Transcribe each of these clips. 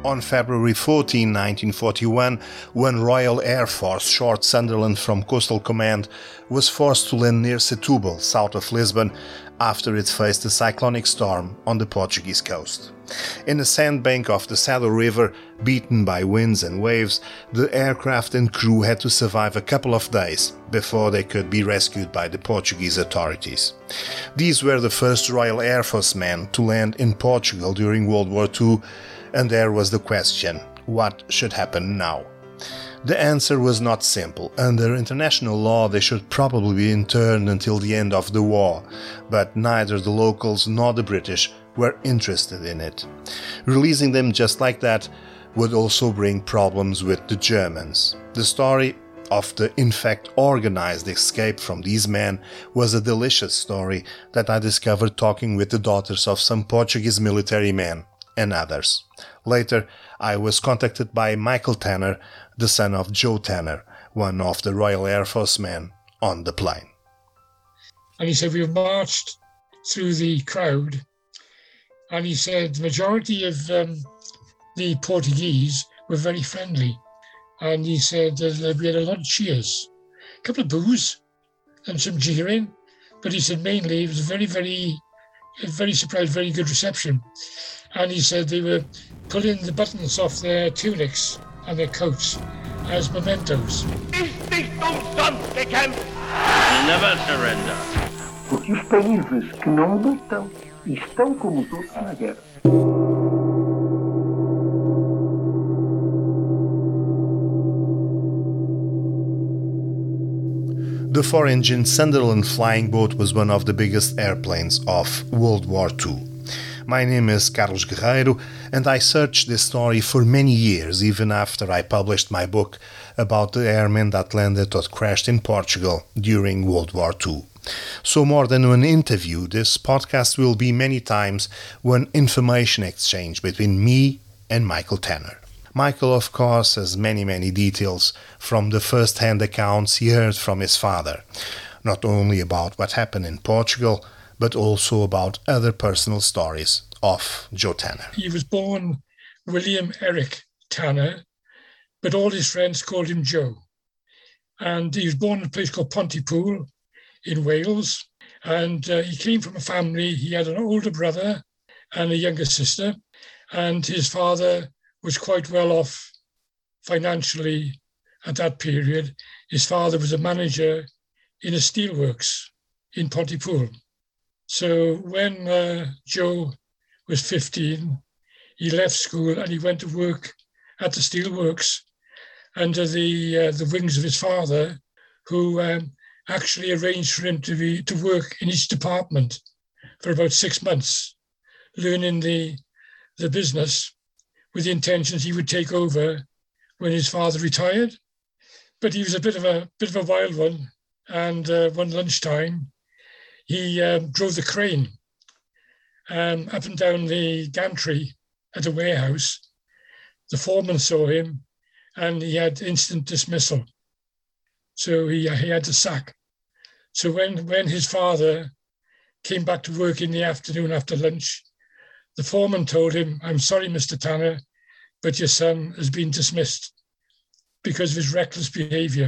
On February 14, 1941, when Royal Air Force short Sunderland from Coastal Command was forced to land near Setúbal, south of Lisbon, after it faced a cyclonic storm on the Portuguese coast. In the sandbank of the Saddle River, beaten by winds and waves, the aircraft and crew had to survive a couple of days before they could be rescued by the Portuguese authorities. These were the first Royal Air Force men to land in Portugal during World War II, and there was the question, what should happen now? The answer was not simple. Under international law, they should probably be interned until the end of the war, but neither the locals nor the British were interested in it. Releasing them just like that would also bring problems with the Germans. The story of the in fact organized escape from these men was a delicious story that I discovered talking with the daughters of some Portuguese military men and others. Later, I was contacted by Michael Tanner, the son of Joe Tanner, one of the Royal Air Force men on the plane. And he said, we marched through the crowd, and he said the majority of the Portuguese were very friendly. And he said we had a lot of cheers, a couple of boos and some jeering, but he said mainly it was very surprised, very good reception. And he said they were pulling the buttons off their tunics and their coats as mementos. Never surrender. Porque os países que não lutam estão como os outros na guerra. The 4-engine Sunderland flying boat was one of the biggest airplanes of World War II. My name is Carlos Guerreiro, and I searched this story for many years, even after I published my book about the airmen that landed or crashed in Portugal during World War II. So more than an interview, this podcast will be many times one information exchange between me and Michael Tanner. Michael, of course, has many details from the first-hand accounts he heard from his father, not only about what happened in Portugal, but also about other personal stories of Joe Tanner. He was born William Eric Tanner, but all his friends called him Joe. And he was born in a place called Pontypool in Wales. And he came from a family, he had an older brother and a younger sister. And his father was quite well off financially at that period. His father was a manager in a steelworks in Pontypool. So when Joe was 15, he left school and he went to work at the steelworks under the wings of his father, who actually arranged for him to work in each department for about 6 months, learning the business with the intentions he would take over when his father retired. But he was a bit of a wild one, and one lunchtime, he drove the crane up and down the gantry at a warehouse. The foreman saw him and he had instant dismissal. So he had to sack. So when his father came back to work in the afternoon after lunch, the foreman told him, "I'm sorry, Mr. Tanner, but your son has been dismissed because of his reckless behavior."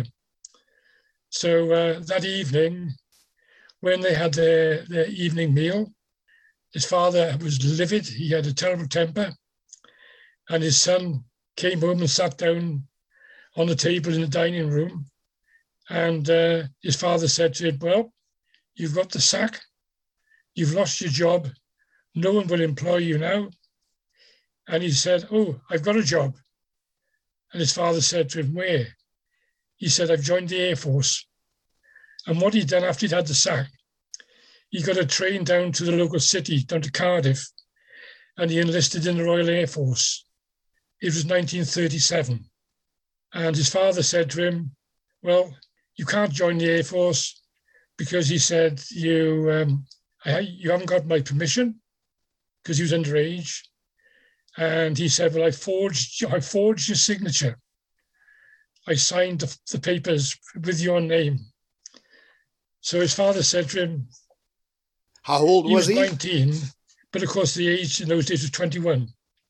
So that evening, when they had their evening meal, his father was livid. He had a terrible temper. And his son came home and sat down on the table in the dining room. And his father said to him, "Well, you've got the sack. You've lost your job. No one will employ you now." And he said, "Oh, I've got a job." And his father said to him, "Where?" He said, "I've joined the Air Force." And what he'd done after he'd had the sack, he got a train down to the local city, down to Cardiff, and he enlisted in the Royal Air Force. It was 1937. And his father said to him, "Well, you can't join the Air Force because," he said, you haven't got my permission," because he was underage. And he said, "Well, I forged your signature. I signed the papers with your name." So his father said to him, "How old was he?" He was 19, but of course the age in those days was 21.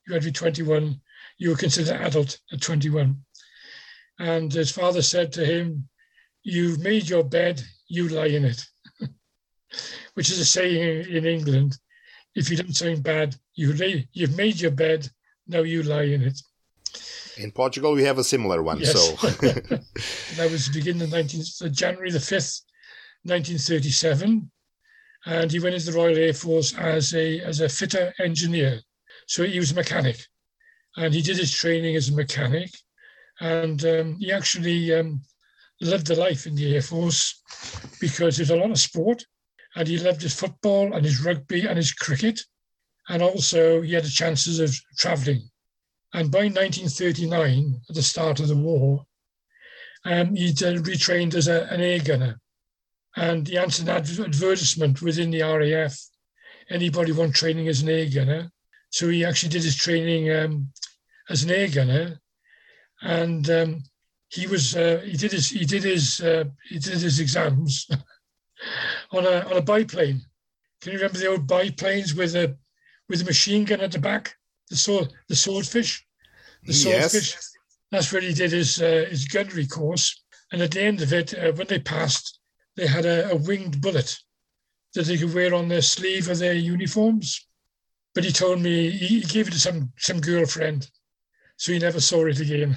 you had to be 21. You were considered adult at 21. And his father said to him, "You've made your bed, you lie in it," which is a saying in England. If you done something bad, you've made your bed, now you lie in it. In Portugal, we have a similar one. Yes. So that was beginning of January the 5th, 1937. And he went into the Royal Air Force as a fitter engineer. So he was a mechanic. And he did his training as a mechanic. And he actually lived the life in the Air Force because there's a lot of sport. And he loved his football and his rugby and his cricket. And also he had the chances of traveling. And by 1939, at the start of the war, he'd retrained as an air gunner. And he answered an advertisement within the RAF. Anybody want training as an air gunner? So he actually did his training as an air gunner, and he did his exams on a biplane. Can you remember the old biplanes with a machine gun at the back? The swordfish. Yes. That's where he did his gunnery course. And at the end of it, when they passed, they had a winged bullet that they could wear on their sleeve of their uniforms. But he told me he gave it to some girlfriend, so he never saw it again.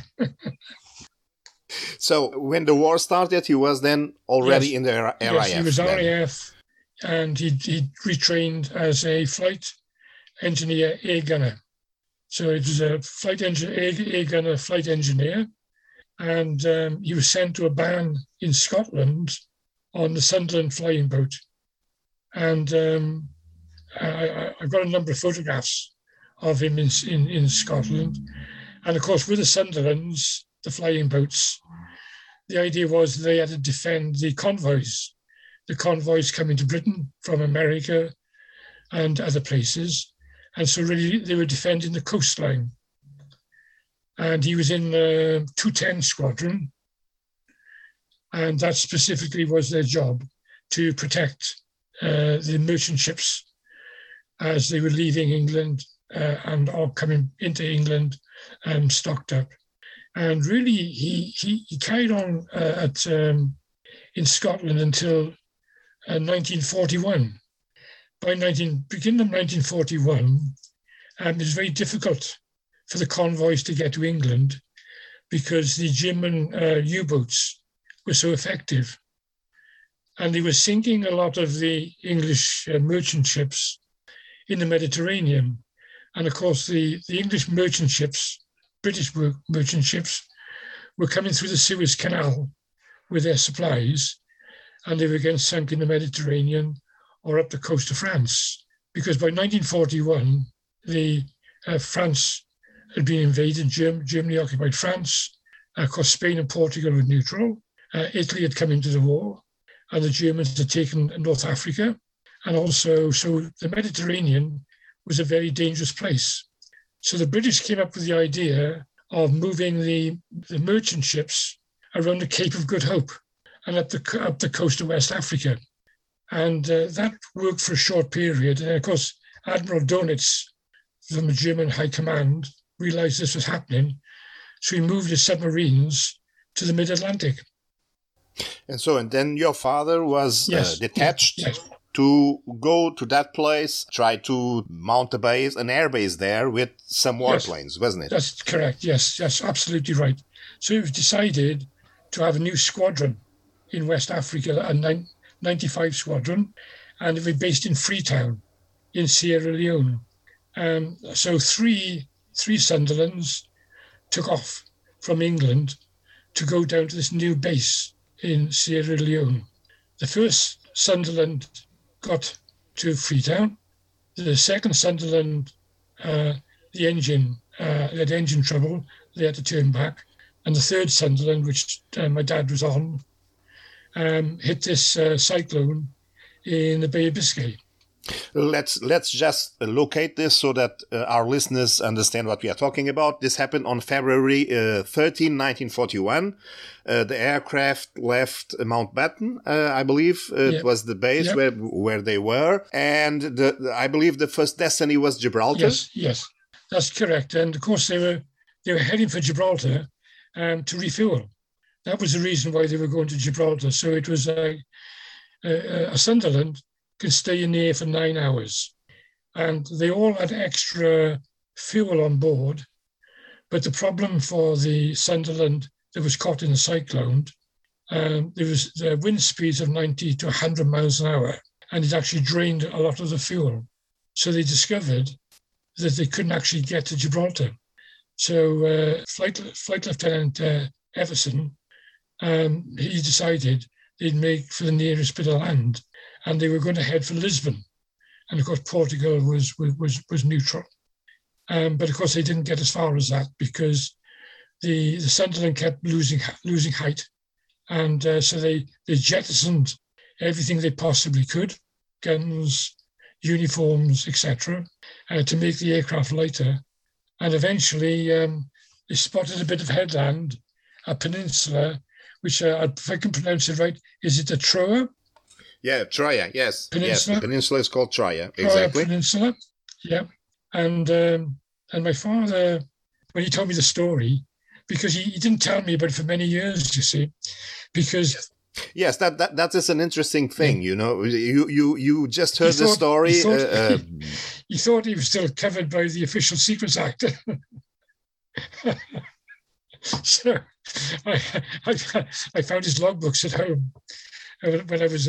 So when the war started, he was then already in the RAF. Yes, he was RAF, and he retrained as a flight engineer air gunner. So it was a flight air gunner flight engineer, and he was sent to a ban in Scotland on the Sunderland flying boat. And I've got a number of photographs of him in Scotland. And of course, with the Sunderlands, the flying boats, the idea was they had to defend the convoys coming to Britain from America and other places. And so really they were defending the coastline. And he was in the 210 Squadron. And that specifically was their job, to protect the merchant ships as they were leaving England and all coming into England stocked up. And really, he carried on in Scotland until 1941. By beginning of 1941, it was very difficult for the convoys to get to England because the German U-boats were so effective. And they were sinking a lot of the English merchant ships in the Mediterranean. And of course, the English merchant ships, British merchant ships, were coming through the Suez Canal with their supplies, and they were again sunk in the Mediterranean or up the coast of France. Because by 1941, France had been invaded, Germany occupied France. Of course, Spain and Portugal were neutral. Italy had come into the war, and the Germans had taken North Africa. And also, so the Mediterranean was a very dangerous place. So the British came up with the idea of moving the merchant ships around the Cape of Good Hope and up the coast of West Africa. And that worked for a short period. And of course, Admiral Dönitz from the German High Command realized this was happening. So he moved his submarines to the mid-Atlantic. And then your father was detached Yes. to go to that place, try to mount an air base there with some warplanes, wasn't it? That's correct. Yes, that's absolutely right. So it was decided to have a new squadron in West Africa, a 95 Squadron, and it was based in Freetown in Sierra Leone. So three Sunderlands took off from England to go down to this new base in Sierra Leone. The first Sunderland got to Freetown. The second Sunderland, the engine had engine trouble. They had to turn back. And the third Sunderland, which my dad was on, hit this cyclone in the Bay of Biscay. Let's just locate this so that our listeners understand what we are talking about. This happened on February 13, 1941. The aircraft left Mountbatten, I believe. It was the base where they were. And I believe the first destiny was Gibraltar. Yes. That's correct. And of course, they were heading for Gibraltar to refuel. That was the reason why they were going to Gibraltar. So it was a Sunderland could stay in the air for 9 hours. And they all had extra fuel on board. But the problem for the Sunderland that was caught in the cyclone, there was wind speeds of 90 to 100 miles an hour, and it actually drained a lot of the fuel. So they discovered that they couldn't actually get to Gibraltar. So Flight Lieutenant Everson, he decided they'd make for the nearest bit of land, and they were going to head for Lisbon. And of course, Portugal was neutral. But of course, they didn't get as far as that because the Sunderland kept losing height. And so they jettisoned everything they possibly could, guns, uniforms, etc., to make the aircraft lighter. And eventually, they spotted a bit of headland, a peninsula, which, if I can pronounce it right, is it a Troia? Yeah, Troia, yes. Peninsula? Yes, the peninsula is called Troia, Troia exactly. Peninsula, yeah. And my father, when he told me the story, because he didn't tell me about it for many years, you see, because... Yes, that is an interesting thing, you know. You just heard the story. He thought he was still covered by the Official Secrets Act. So I found his logbooks at home when I was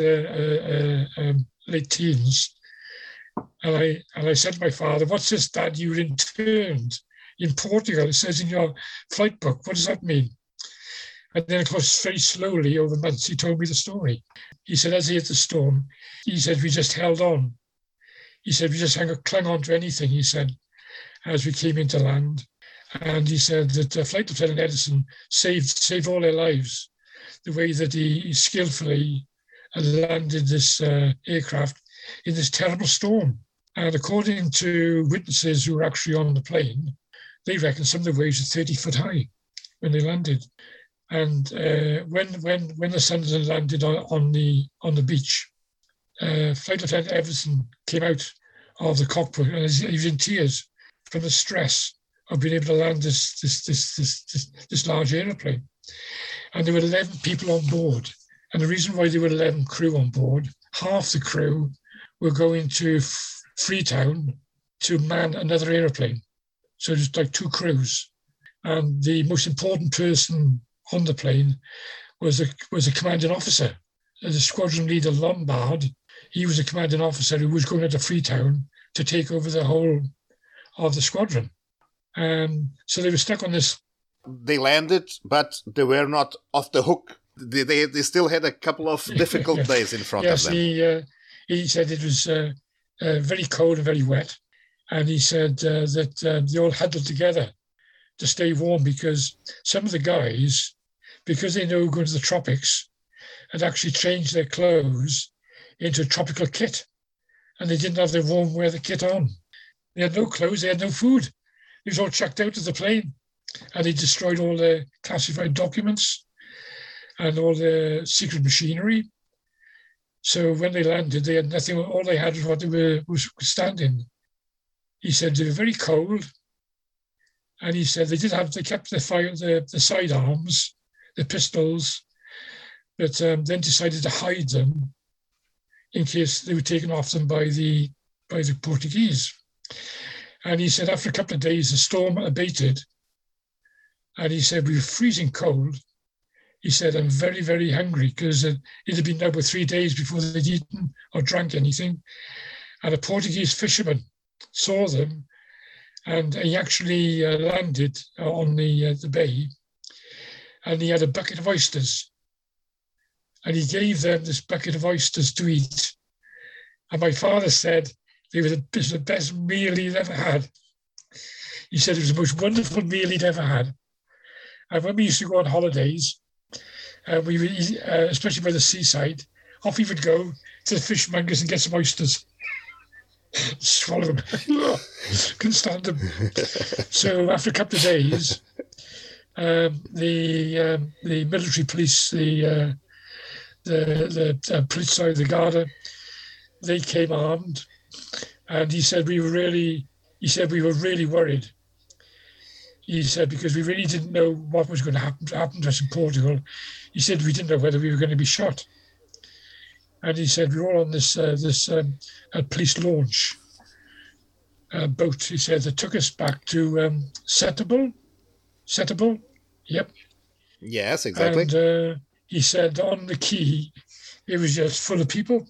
late teens. And I said to my father, "What's this, Dad? You were interned in Portugal. It says in your flight book. What does that mean?" And then, of course, very slowly over months, he told me the story. He said, as he hit the storm, he said, we just held on. He said, we just clung on to anything, he said, as we came into land. And he said that Flight Lieutenant Edison saved all their lives, the way that he skillfully landed this aircraft in this terrible storm. And according to witnesses who were actually on the plane, they reckon some of the waves were 30 foot high when they landed. And when the Sunderland landed on the beach, Flight Lieutenant Everson came out of the cockpit and he was in tears from the stress of being able to land this large aeroplane. And there were 11 people on board. And the reason why there were 11 crew on board, half the crew were going to Freetown to man another aeroplane. So just like 2 crews. And the most important person on the plane was a commanding officer. The squadron leader, Lombard, he was a commanding officer who was going into Freetown to take over the whole of the squadron. So they were stuck on this. They landed, but they were not off the hook. They still had a couple of difficult days in front of them. Yes, he said it was very cold and very wet. And he said that they all huddled together to stay warm because some of the guys, because they know going to the tropics, had actually changed their clothes into a tropical kit. And they didn't have their warm weather kit on. They had no clothes, they had no food. It was all chucked out of the plane. And they destroyed all their classified documents and all the secret machinery. So when they landed, they had nothing. All they had was what they was standing. He said they were very cold. And he said they kept the sidearms, the pistols, but then decided to hide them in case they were taken off them by the Portuguese. And he said after a couple of days, the storm abated. And he said, we were freezing cold. He said, I'm very, very hungry because it had been over 3 days before they'd eaten or drank anything. And a Portuguese fisherman saw them and he actually landed on the bay and he had a bucket of oysters. And he gave them this bucket of oysters to eat. And my father said they were the best meal he'd ever had. He said it was the most wonderful meal he'd ever had. And when we used to go on holidays, we would eat, especially by the seaside, off he would go to the fishmongers and get some oysters. Swallow them. Couldn't stand them. So after a couple of days, the military police, the Polizei, the Garda, they came armed, and he said we were really he said, we were really worried. He said, because we really didn't know what was going to happen to us in Portugal. He said, we didn't know whether we were going to be shot. And he said, we were all on this police launch boat, he said, that took us back to Setúbal. Yep. Yes, exactly. And he said on the quay, it was just full of people.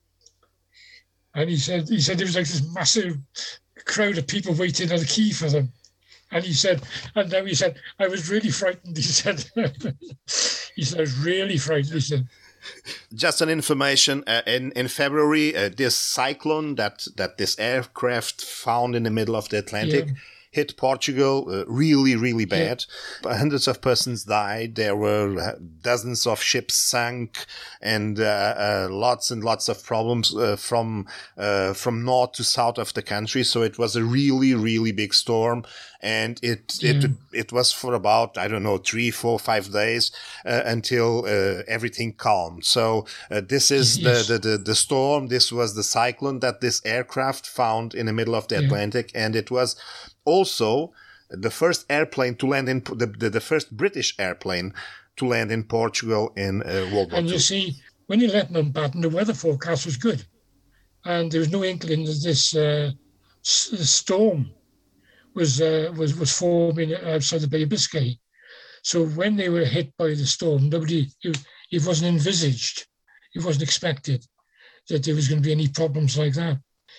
And he said there was like this massive crowd of people waiting on the quay for them. And he said, I was really frightened. He said, I was really frightened. He said, just an information, in February, this cyclone that this aircraft found in the middle of the Atlantic hit Portugal really, really bad. Yeah. Hundreds of persons died. There were dozens of ships sank, and lots and lots of problems from north to south of the country. So it was a really, really big storm. And it was for about, 3, 4, 5 days until everything calmed. So this is the storm. This was the cyclone that this aircraft found in the middle of the Atlantic, and it was also the first airplane to land in the first British airplane to land in Portugal in World War II. And you see, when you left Mountbatten, the weather forecast was good, and there was no inkling that this storm was forming outside the Bay of Biscay. So when they were hit by the storm, it wasn't envisaged, it wasn't expected that there was going to be any problems like that.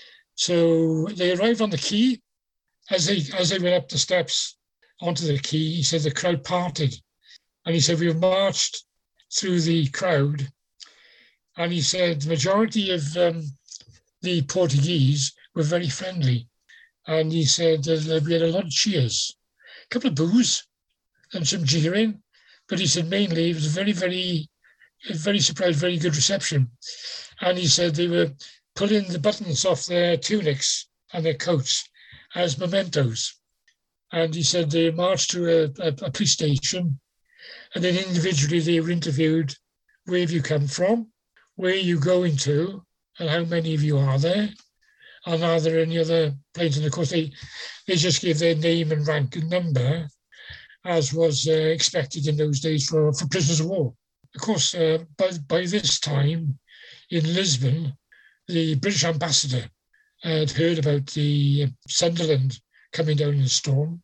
So they arrived on the quay. As they went up the steps onto the quay, he said the crowd parted. And he said, we have marched through the crowd. And he said the majority of the Portuguese were very friendly. And he said we had a lot of cheers, a couple of boos and some jeering. But he said mainly it was a very, very, very surprised, very good reception. And he said they were pulling the buttons off their tunics and their coats as mementos. And he said they marched to a police station, and then individually they were interviewed, where have you come from, where are you going to, and how many of you are there, and are there any other planes? And of course they just gave their name and rank and number, as was expected in those days for prisoners of war. Of course, by this time in Lisbon, the British ambassador had heard about the Sunderland coming down in the storm.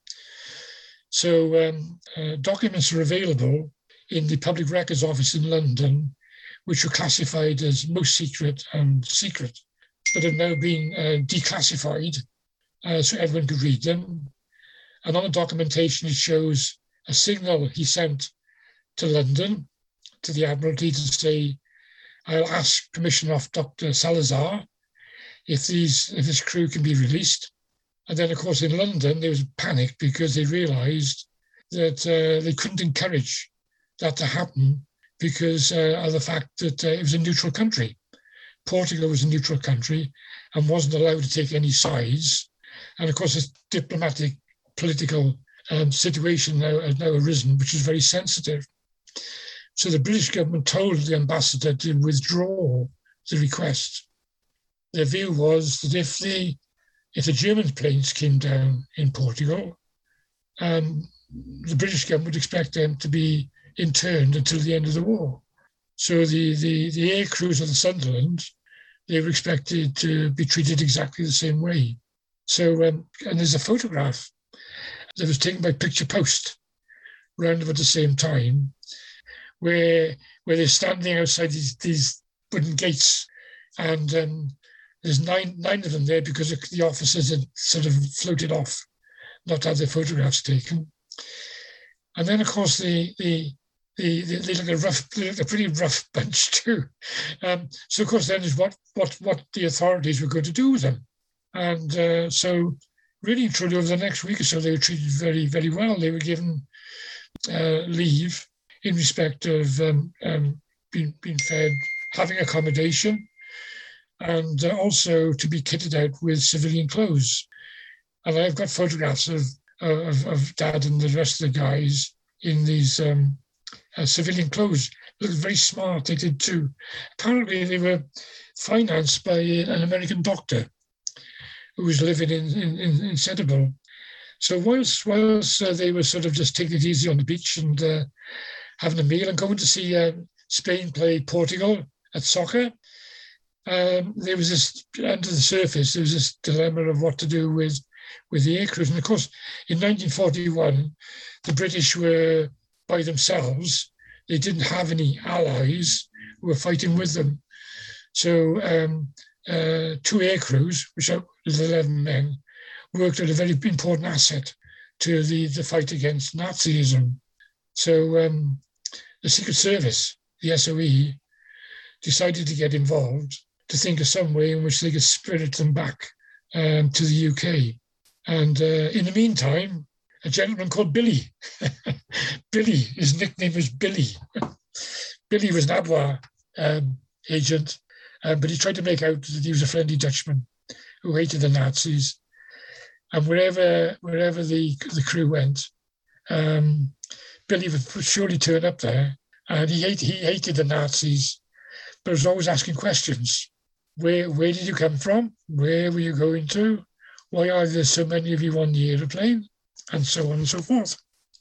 So documents are available in the Public Records Office in London, which were classified as most secret and secret, but have now been declassified so everyone could read them. And on the documentation, it shows a signal he sent to London, to the Admiralty, to say, I'll ask permission of Dr. Salazar if this crew can be released. And then, of course, in London, there was panic because they realised that they couldn't encourage that to happen because of the fact that it was a neutral country. Portugal was a neutral country and wasn't allowed to take any sides. And, of course, this diplomatic, political situation has now arisen, which is very sensitive. So the British government told the ambassador to withdraw the request. Their view was that if the German planes came down in Portugal, the British government would expect them to be interned until the end of the war. So the air crews of the Sunderland, they were expected to be treated exactly the same way. So, and there's a photograph that was taken by Picture Post around about the same time, where they're standing outside these wooden gates, and there's nine of them there because the officers had sort of floated off, not to have their photographs taken. And then, of course, they look a pretty rough bunch too. So, of course, then is what the authorities were going to do with them. And so, really and truly, over the next week or so, they were treated very, very well. They were given leave in respect of being fed, having accommodation, and also to be kitted out with civilian clothes. And I've got photographs of Dad and the rest of the guys in these civilian clothes. Looked very smart, they did too. Apparently they were financed by an American doctor who was living in Setúbal. So whilst they were sort of just taking it easy on the beach and having a meal and going to see Spain play Portugal at soccer, there was this, under the surface, there was this dilemma of what to do with the air crews. And of course, in 1941, the British were by themselves. They didn't have any allies who were fighting with them. So 2 air crews, which are 11 men, worked as a very important asset to the fight against Nazism. So the Secret Service, the SOE, decided to get involved to think of some way in which they could spirit them back to the UK. And in the meantime, a gentleman called Billy, his nickname was Billy. Billy was an ABWA agent, but he tried to make out that he was a friendly Dutchman who hated the Nazis. And wherever the crew went, Billy would surely turn up there. And he hated the Nazis, but was always asking questions. Where did you come from? Where were you going to? Why are there so many of you on the aeroplane? And so on and so forth.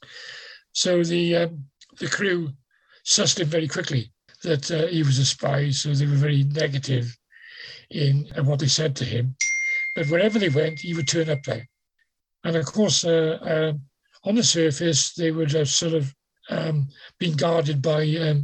So the crew sussed him very quickly that he was a spy, so they were very negative in what they said to him. But wherever they went, he would turn up there. And of course, on the surface, they would have sort of been guarded by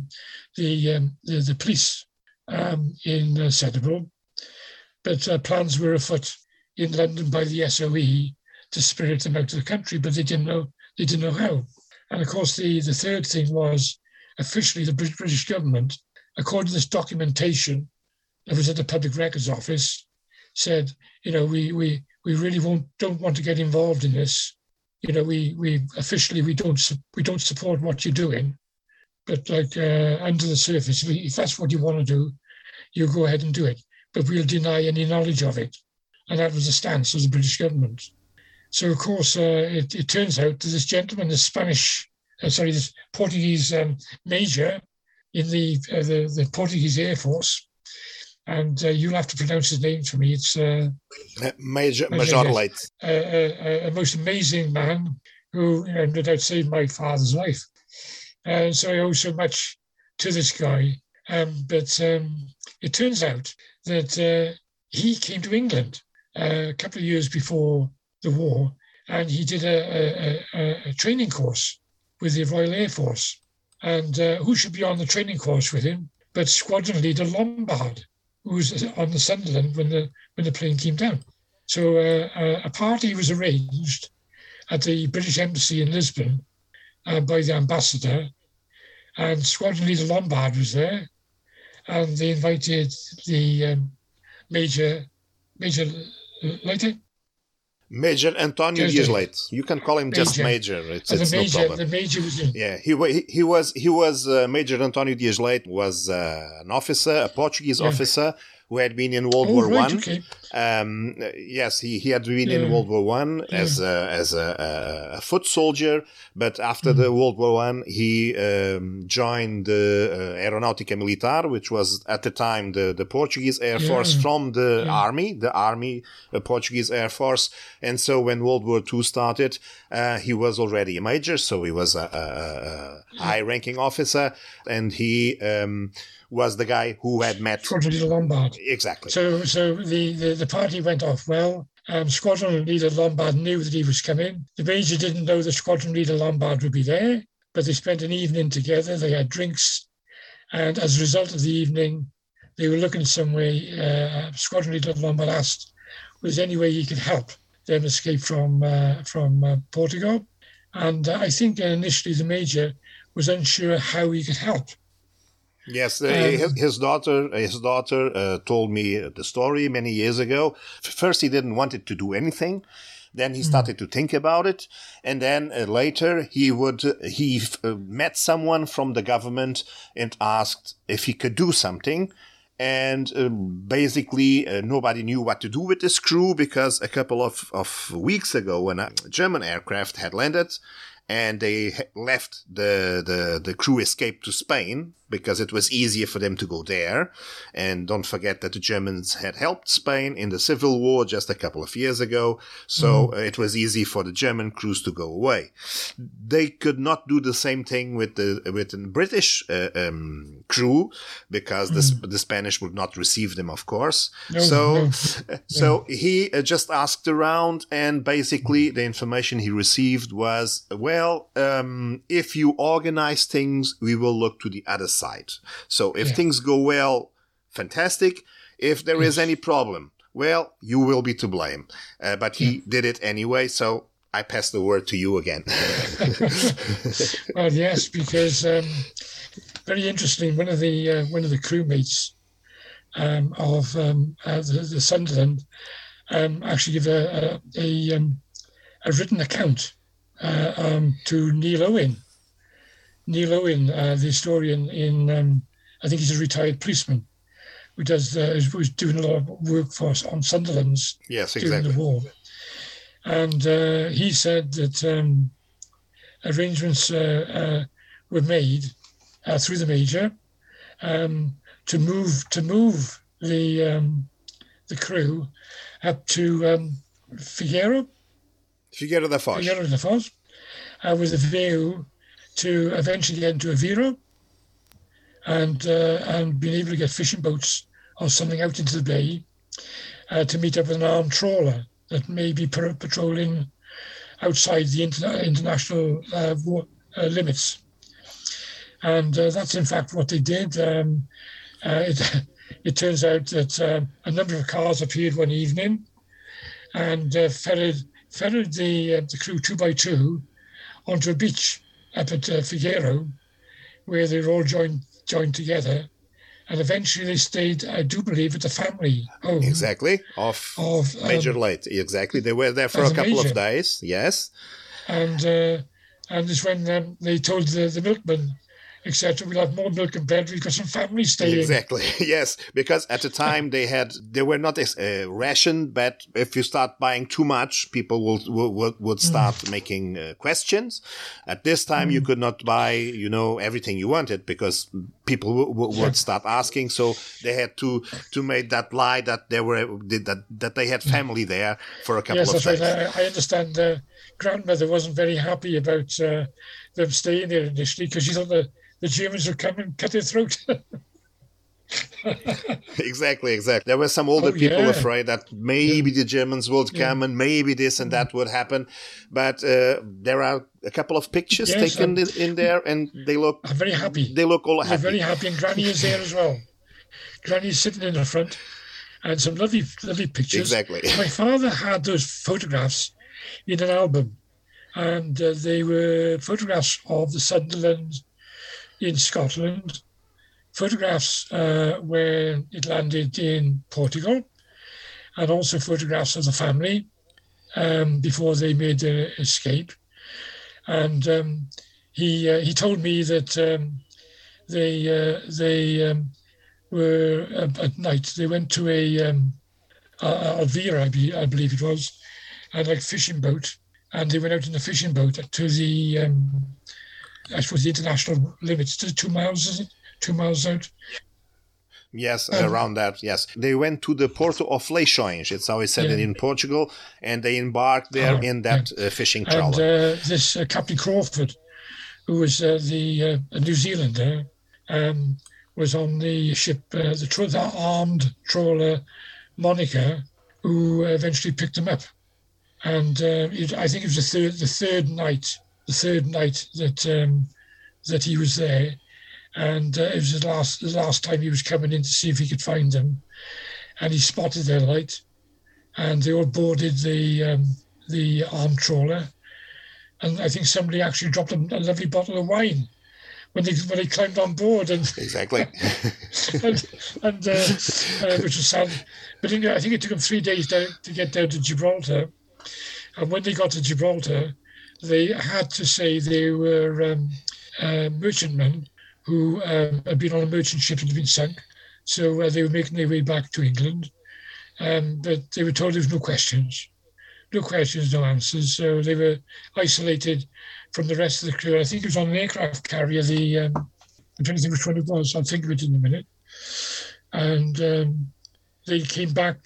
the police in Setúbal. But plans were afoot in London by the SOE to spirit them out of the country, but they didn't know how. And of course, the third thing was officially the British government, according to this documentation that was at the Public Records Office, said, we really don't want to get involved in this. We officially we don't support what you're doing, but under the surface, if that's what you want to do, you go ahead and do it. But we'll deny any knowledge of it, and that was the stance of the British government. So of course, it turns out that this gentleman, this Portuguese major in the Portuguese Air Force, and you'll have to pronounce his name for me. It's Major Leite. A most amazing man who, no doubt, saved my father's life. So I owe so much to this guy. But it turns out that he came to England a couple of years before the war, and he did a training course with the Royal Air Force. And who should be on the training course with him but Squadron Leader Lombard, who was on the Sunderland when the plane came down. So a party was arranged at the British Embassy in Lisbon by the ambassador, and Squadron Leader Lombard was there, and they invited the Major Leite? Major António Dias Leite. You can call him just Major. It's no problem. The Major was in. Yeah, he was Major António Dias Leite was an officer, a Portuguese officer who had been in World War One. Okay. Yes, he had been in World War One as a foot soldier, but after the World War One, he joined the Aeronáutica Militar, which was at the time the Portuguese Air Force from the Army, Portuguese Air Force. And so when World War II started, he was already a major, so he was a high-ranking officer, and he was the guy who had met Squadron Leader Lombard. Exactly. So the party went off well. Squadron Leader Lombard knew that he was coming. The Major didn't know that Squadron Leader Lombard would be there, but they spent an evening together. They had drinks, and as a result of the evening, they were looking some way. Squadron Leader Lombard asked, was there any way he could help them escape from Portugal? And I think initially the Major was unsure how he could help. Yes, his daughter told me the story many years ago. First, he didn't want it to do anything. Then he started to think about it, and then later he met someone from the government and asked if he could do something. And basically, nobody knew what to do with this crew, because a couple of weeks ago, when a German aircraft had landed, and they left the crew escaped to Spain. because it was easier for them to go there. And don't forget that the Germans had helped Spain in the Civil War just a couple of years ago. So it was easy for the German crews to go away. They could not do the same thing with the British crew, because the Spanish would not receive them, of course. So he just asked around, and basically the information he received was, well, if you organize things, we will look to the other side. So if things go well, fantastic. If there is any problem, well, you will be to blame. But he did it anyway, so I pass the word to you again. Well, yes, because very interesting. One of the crewmates of the Sunderland actually gave a written account to Neil Owen. Neil Owen, the historian in, I think he's a retired policeman, who was doing a lot of work for us on Sunderland's during the war. And he said that arrangements were made through the Major to move the crew up to Figueira da Foz, with a view to eventually get into Aveiro and being able to get fishing boats or something out into the bay to meet up with an armed trawler that may be patrolling outside the international limits. And that's in fact what they did. It turns out that a number of cars appeared one evening and ferried the crew 2 by 2 onto a beach up at Figueiro, where they were all joined together. And eventually they stayed, I do believe, at the family home. Exactly, of Major Late. Exactly. They were there for a couple of days, yes. And it's when they told the milkman, etc., we'll have more milk and bread, we've got some family staying. Exactly, yes, because at the time they were not rationed, but if you start buying too much, people would start making questions. At this time, you could not buy, everything you wanted, because people would start asking. So they had to make that lie that that they had family there for a couple of days. Yes, that's right. I understand grandmother wasn't very happy about them staying there initially, because she thought the Germans would come and cut their throat. Exactly. There were some older people afraid that maybe the Germans would come and maybe this and that would happen. But there are a couple of pictures taken in there, and they look... I'm very happy. They look all happy. They're very happy, and Granny is there as well. Granny's sitting in the front, and some lovely pictures. Exactly. My father had those photographs in an album, and they were photographs of the Sunderland in Scotland, photographs where it landed in Portugal, and also photographs of the family before they made their escape. And he told me that they were at night. They went to Elvira, I believe it was, and like fishing boat, and they went out in the fishing boat to the I suppose the international limits. 2 miles, is it? 2 miles out? Yes, around that, yes. They went to the Porto of Leixões, it's how I said it in Portugal, and they embarked there in that fishing trawler. And this Captain Crawford, who was the New Zealander, was on the ship, the armed trawler Monica, who eventually picked him up. And I think it was the third night that he was there, and it was the last time he was coming in to see if he could find them, and he spotted their light, and they all boarded the armed trawler, and I think somebody actually dropped a lovely bottle of wine when they climbed on board, and exactly, and which was sad. But I think it took them 3 days to get down to Gibraltar, and when they got to Gibraltar, they had to say they were merchantmen who had been on a merchant ship and had been sunk. So they were making their way back to England. But they were told there was no questions, no answers. So they were isolated from the rest of the crew. I think it was on an aircraft carrier, the I'm trying to think which one it was. I'll think of it in a minute. And they came back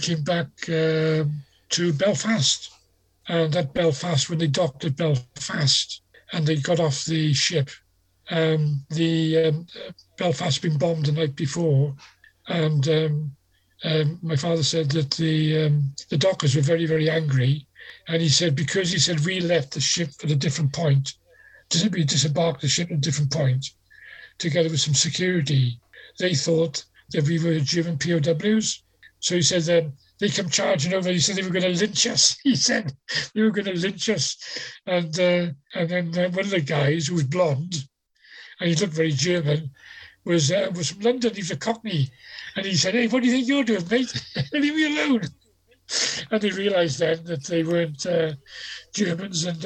to Belfast. And at Belfast, when they docked at Belfast and they got off the ship, Belfast had been bombed the night before. And my father said that the dockers were very, very angry. And he said, because he said we left the ship at a different point, we disembarked the ship at a different point, together with some security, they thought that we were German POWs. So he said they come charging over. He said they were going to lynch us. He said they were going to lynch us. And then one of the guys who was blonde, and he looked very German, was from London. He was a Cockney. And he said, "Hey, what do you think you're doing, mate? Leave me alone." And they realised then that they weren't Germans. And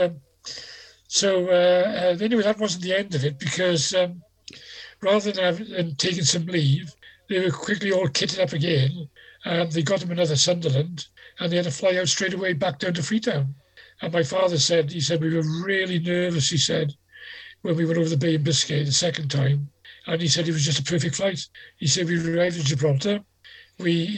anyway, that wasn't the end of it, because rather than taking some leave, they were quickly all kitted up again. They got them another Sunderland, and they had to fly out straight away back down to Freetown. And my father said, we were really nervous, he said, when we went over the Bay of Biscay the second time. And he said it was just a perfect flight. He said we arrived in Gibraltar. We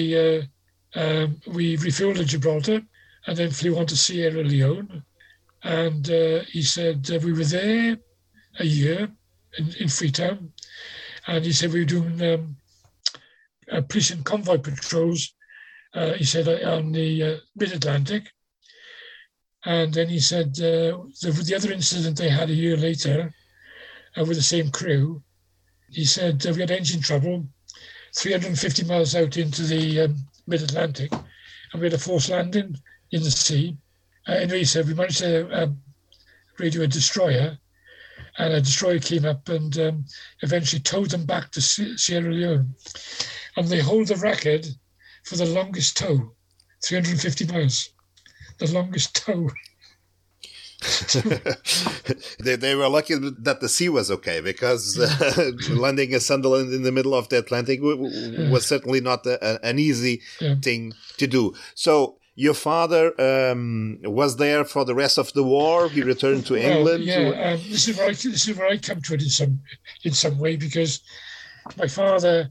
refueled at Gibraltar and then flew on to Sierra Leone. And he said we were there a year in Freetown. And he said we were doing police and convoy patrols, he said, on the mid-Atlantic. And then he said the other incident they had a year later with the same crew, he said we had engine trouble 350 miles out into the mid-Atlantic, and we had a forced landing in the sea. Anyway, he said we managed to radio a destroyer, and a destroyer came up and eventually towed them back to Sierra Leone. And they hold the record for the longest tow, 350 miles, the longest tow. They were lucky that the sea was okay, because landing a Sunderland in the middle of the Atlantic was certainly not an easy thing to do. So your father was there for the rest of the war. He returned to England. This is where I come to it in some way, because my father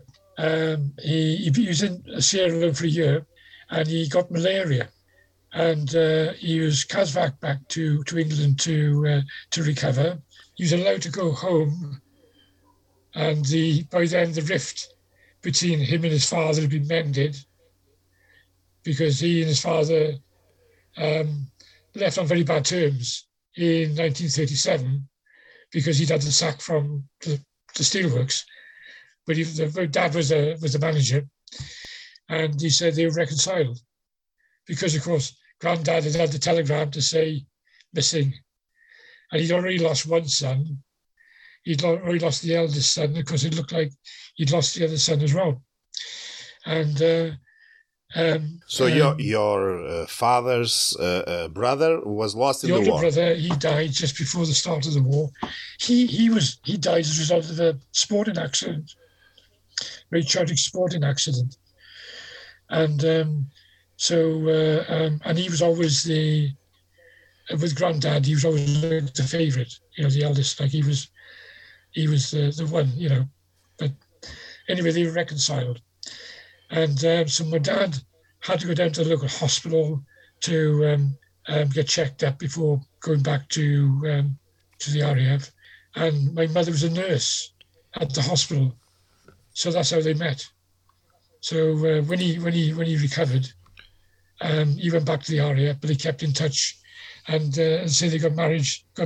he was in Sierra Leone for a year, and he got malaria. And he was CASVAC back to England to recover. He was allowed to go home, and by then the rift between him and his father had been mended, because he and his father left on very bad terms in 1937, because he'd had the sack from the steelworks, but the dad was the manager, and he said they were reconciled. Because, of course, Granddad had had the telegram to say missing. And he'd already lost one son. He'd already lost the eldest son, because it looked like he'd lost the other son as well. And so your father's brother was lost in the war. The older brother, he died just before the start of the war. He died as a result of a sporting accident, very tragic sporting accident. And and he was always with Granddad, he was always the favourite, the eldest. Like he was the one, But anyway, they were reconciled, and so my dad had to go down to the local hospital to get checked up before going back to the RAF, and my mother was a nurse at the hospital, so that's how they met. So when he recovered. He went back to the RAF, but they kept in touch, and say they got married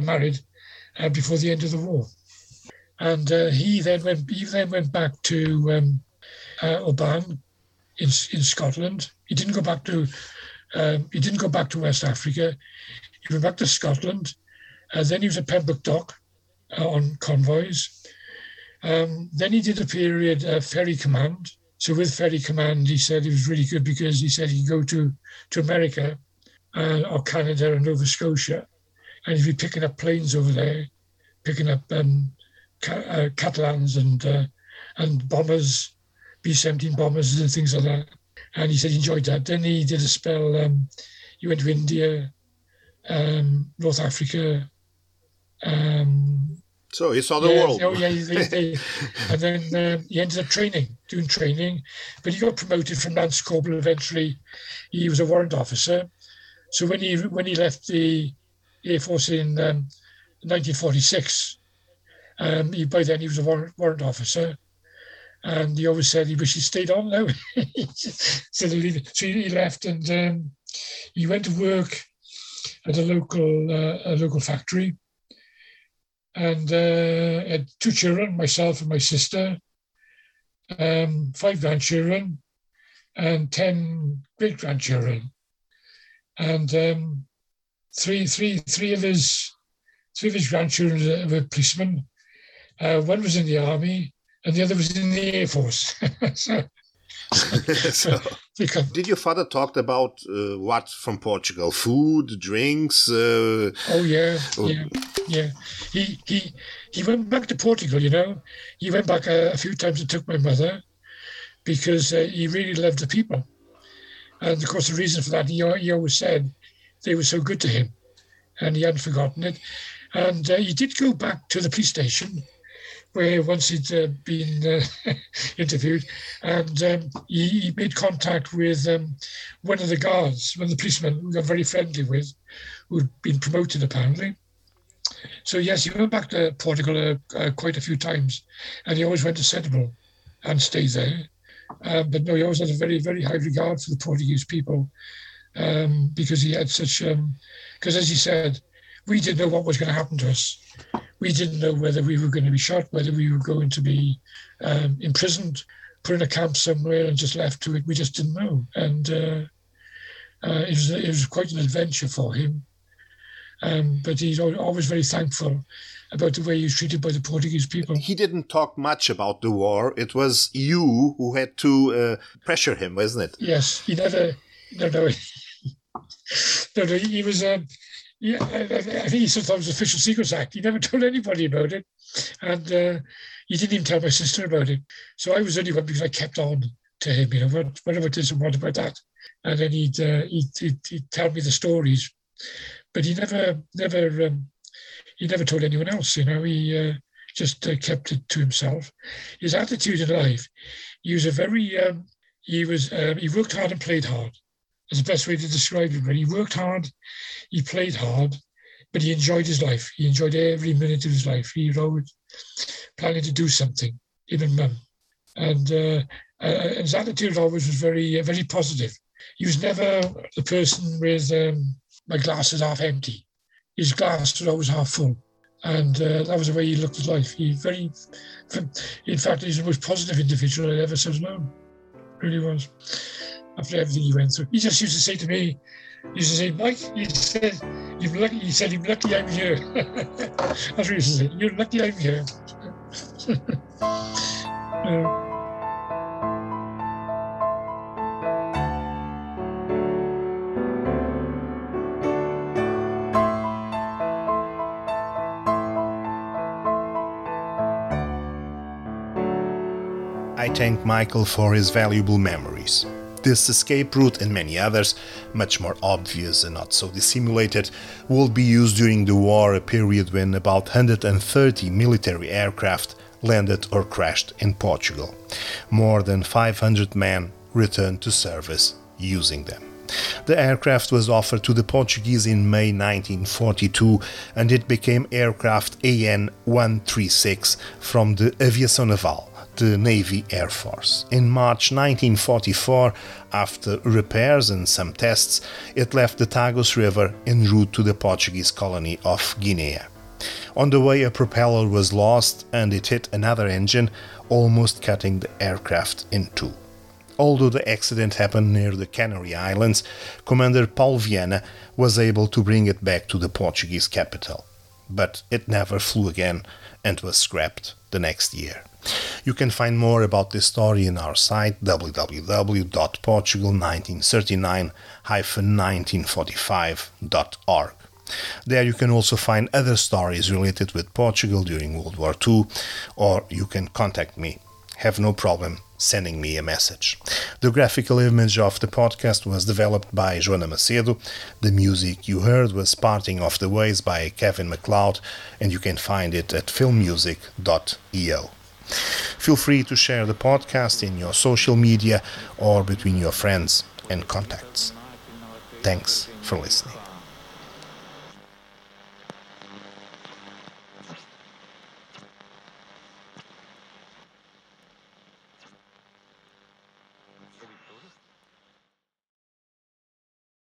before the end of the war. And he then went back to Oban in Scotland. He didn't go back to West Africa. He went back to Scotland. Then he was at Pembroke Dock on convoys. Then he did a period ferry command. So with Ferry Command, he said it was really good, because he said he could go to America or Canada or Nova Scotia, and he'd be picking up planes over there, picking up Catalans and bombers, B-17 bombers and things like that. And he said he enjoyed that. Then he did a spell, he went to India, North Africa. So he saw the world. Oh, yeah. And then he ended up doing training. But he got promoted from Lance Corporal eventually. He was a warrant officer. So when he left the Air Force in 1946, by then he was a warrant officer. And he always said he wished he stayed on now. So he left, and he went to work at a local factory, and had 2 children, myself and my sister, 5 grandchildren, and 10 great grandchildren, and three of his grandchildren were policemen. One was in the army, and the other was in the Air Force. Did your father talk about what from Portugal? Food, drinks? Yeah. He went back to Portugal, He went back a few times and took my mother because he really loved the people. And of course, the reason for that, he always said they were so good to him, and he hadn't forgotten it. And he did go back to the police station, where once he'd been interviewed, and he made contact with one of the guards, one of the policemen who got very friendly with, who'd been promoted apparently. So yes, he went back to Portugal quite a few times, and he always went to Setúbal and stayed there. But no, he always had a very, very high regard for the Portuguese people, because he had such, because as he said, we didn't know what was going to happen to us. We didn't know whether we were going to be shot, whether we were going to be imprisoned, put in a camp somewhere and just left to it. We just didn't know. And it was quite an adventure for him. But he's always very thankful about the way he was treated by the Portuguese people. He didn't talk much about the war. It was you who had to pressure him, wasn't it? Yes, he never... No, he was... Yeah, I think he thought it was Official Secrets Act. He never told anybody about it. And he didn't even tell my sister about it. So I was only one because I kept on to him, what about this and what about that? And then he'd tell me the stories. But he never told anyone else, He just kept it to himself. His attitude in life, he was he worked hard and played hard. That's the best way to describe him. He worked hard, he played hard, but he enjoyed his life. He enjoyed every minute of his life. He was always planning to do something, him and Mum. And his attitude always was very, very positive. He was never the person with my glass is half empty. His glass was always half full. And that was the way he looked at life. In fact, he's the most positive individual I ever have known. Really was. After everything he went through, he just used to say to me, Mike, he said, you're lucky I'm here. That's what he used to say, you're lucky I'm here. I thank Michael for his valuable memories. This escape route and many others, much more obvious and not so dissimulated, will be used during the war, a period when about 130 military aircraft landed or crashed in Portugal. More than 500 men returned to service using them. The aircraft was offered to the Portuguese in May 1942, and it became aircraft AN-136 from the Aviação Naval, the Navy Air Force. In March 1944, after repairs and some tests, it left the Tagus River en route to the Portuguese colony of Guinea. On the way, a propeller was lost and it hit another engine, almost cutting the aircraft in two. Although the accident happened near the Canary Islands, Commander Paulo Viana was able to bring it back to the Portuguese capital. But it never flew again and was scrapped the next year. You can find more about this story in our site www.portugal1939-1945.org. There you can also find other stories related with Portugal during World War II, or you can contact me. have no problem sending me a message. The graphical image of the podcast was developed by Joana Macedo. The music you heard was Parting of the Ways by Kevin MacLeod, and you can find it at filmmusic.io. Feel free to share the podcast in your social media or between your friends and contacts. Thanks for listening.